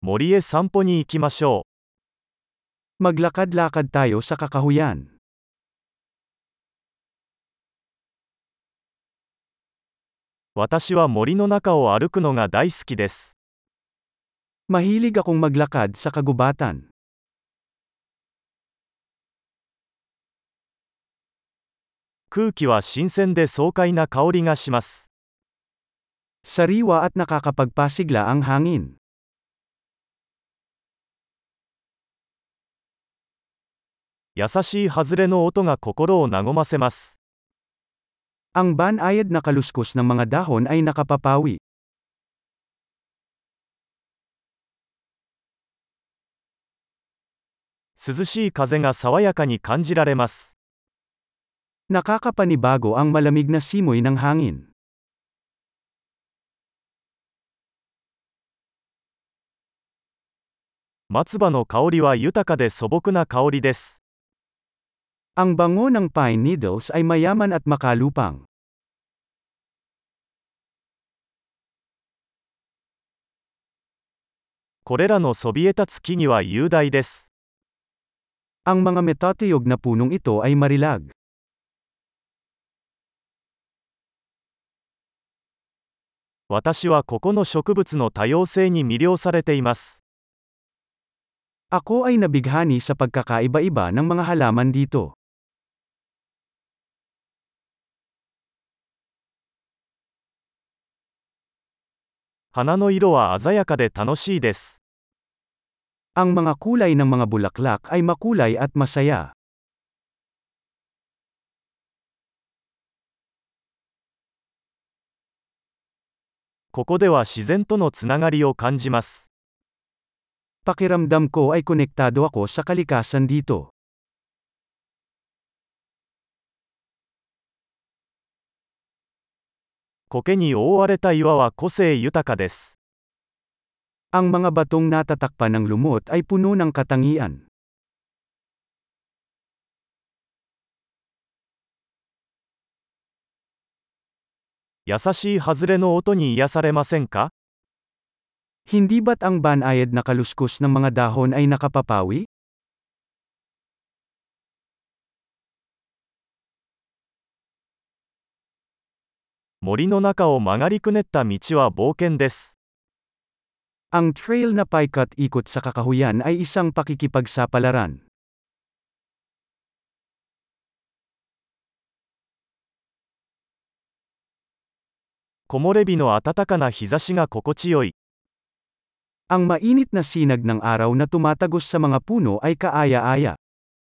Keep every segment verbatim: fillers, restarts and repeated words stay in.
森へ散歩に行きましょ Maglakad-lakad tayo sa kakahuyan. う。私は森の中を歩くのが大好きです。 Mahilig akong maglakad sa kagubatan. 空気は新鮮で爽快な香りがします。 Sariwa at nakakapagpasigla ang hangin. 優しい外れの音が心を和ませます。 Ang banayad na kaluskos ng mga dahon ay nakapapawi. 涼しい風が爽やかに感じられます。 Nakakapanibago ang malamig na simoy ng hangin. 松葉の香りは豊かで素朴な香りです。 Ang bango ng pine needles ay mayaman at makalupang. これらのそびえ立つ木々は雄大です。 Ang mga metatiyog na punong ito ay marilag. 私はここの植物の多様性に魅了されています。 Ako ay nabighani sa pagkakaiba-iba ng mga halaman dito. 花の色は鮮やかで楽しいです。 Ang mga kulay ng mga bulaklak ay makulay at masaya. ここでは自然とのつながりを感じます。 Pakiramdam ko ay konektado ako sa kalikasan dito. 苔に覆われた岩は個性豊かです。 Ang mga batong natatakpan ng lumot ay puno ng katangian. 優しい外れの音に癒されませんか？ Hindi ba't ang banayad na kaluskos ng mga dahon ay nakapapawi? 森の中を曲がりくねった道は冒険です。 Ang trail na paikat-ikot sa kakahuyan ay isang pakikipagsapalaran. 木漏れ日の暖かな日差しが心地よい。 Ang mainit na sinag ng araw na tumatagos sa mga puno ay kaaya-aya.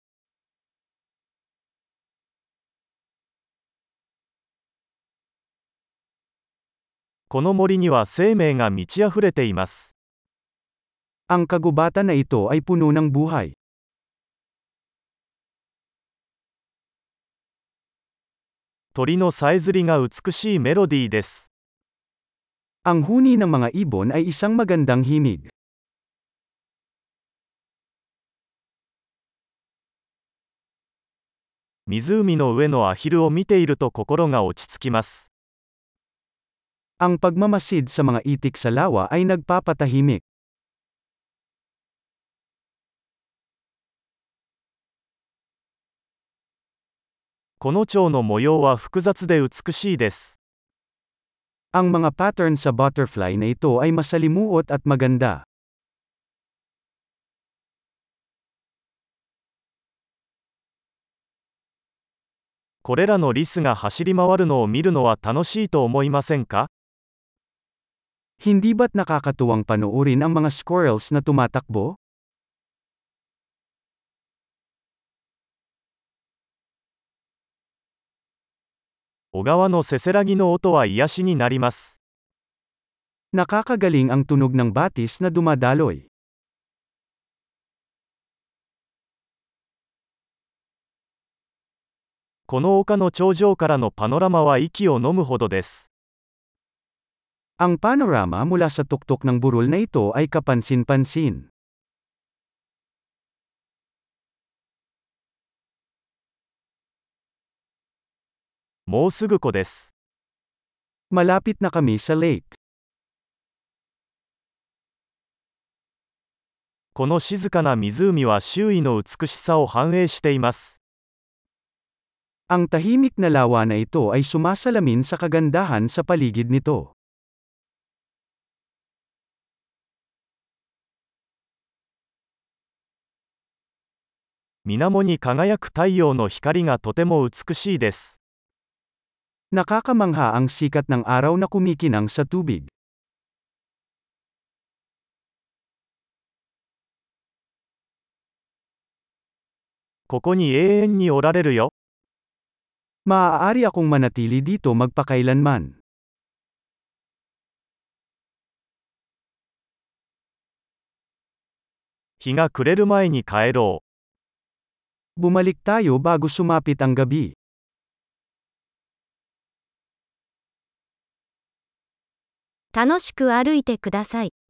この森には生命が満ち溢れています。 Ang kagubatan na ito ay puno ng buhay. 鳥のさえずりが美しいメロディーです。 Ang huni ng mga ibon ay isang magandang himig. 湖の上のアヒルを見ていると心が落ち着きます。 Ang pagmamasid sa mga itik sa lawa ay nagpapatahimik. この蝶の模様は複雑で美しいです。 Ang mga pattern sa butterfly na ito ay masalimuot at maganda. これらのリスが走り回るのを見るのは楽しいと思いませんか？ Hindi ba't nakakatuwang panoorin ang mga squirrels na tumatakbo? 小川のせせらぎの音は癒しになります。 Nakakagaling ang tunog ng batis na dumadaloy. この丘の頂上からのパノラマは息を飲むほどです。 Ang panorama mula sa tuktok ng burol na ito ay kapansin-pansin. もうすぐ湖です。 Malapit na kami sa lake. この静かな湖は周囲の美しさを反映しています。 Ang tahimik na lawa na ito ay sumasalamin sa kagandahan sa paligid nito. 水面に輝く太陽の光がとても美しいです。 Nakakamangha ang sikat ng araw na kumikinang sa tubig. ここに永遠におられるよ。 Maaari akong manatili dito magpakailanman. 日が暮れる前に帰ろう。 Bumalik tayo bago sumapit ang gabi. 楽しく歩いてください。